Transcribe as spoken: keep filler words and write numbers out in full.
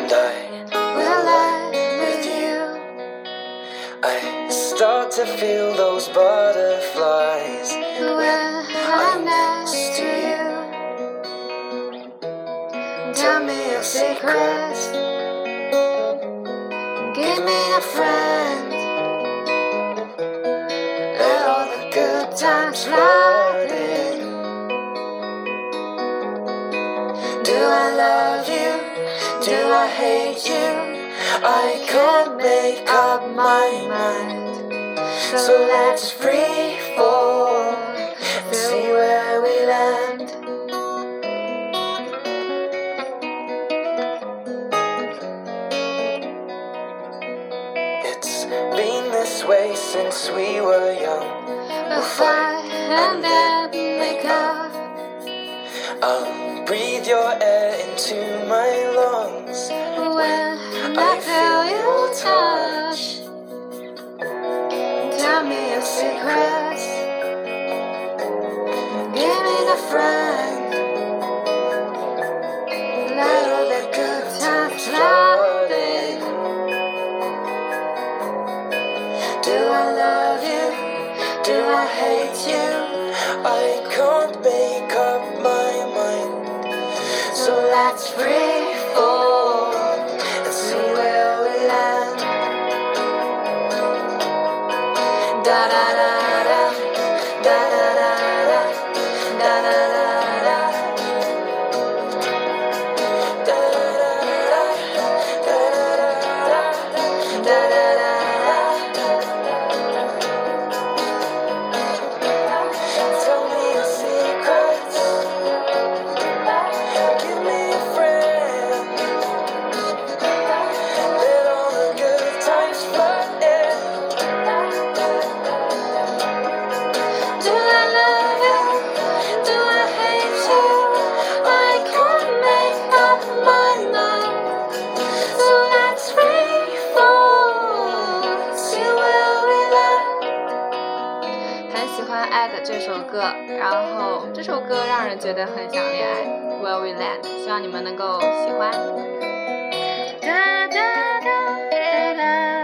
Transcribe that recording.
and I will lie with you. I start to feel those butterflies when I'm next to you. Tell me your secrets, give me a friend, let all the good times flood in. Do I love you? Do I hate you? I can't make up my mind. So let's free fall and see where we land. It's been this way since we were young. We'll fight and then make up. I'll breathe your air into my lungs when I feel your touch. Tell me your secrets, give me the friend, let all the good times flood in. Do I love you? Do I hate you? I can't make up my mind. So let's free fall and see where we land. Da da da da, da da da da, da da da da, da da da da, da da da da, da da. Tell me your secrets, give me a friend, let all the good times flood in. Do I love you? Do I hate you? I can't make up my mind. So let's free fall, see where we land. 很喜欢《爱的》这首歌，然后这首歌让人觉得很想恋爱 Where We Land， 希望你们能够喜欢。哒哒哒哒哒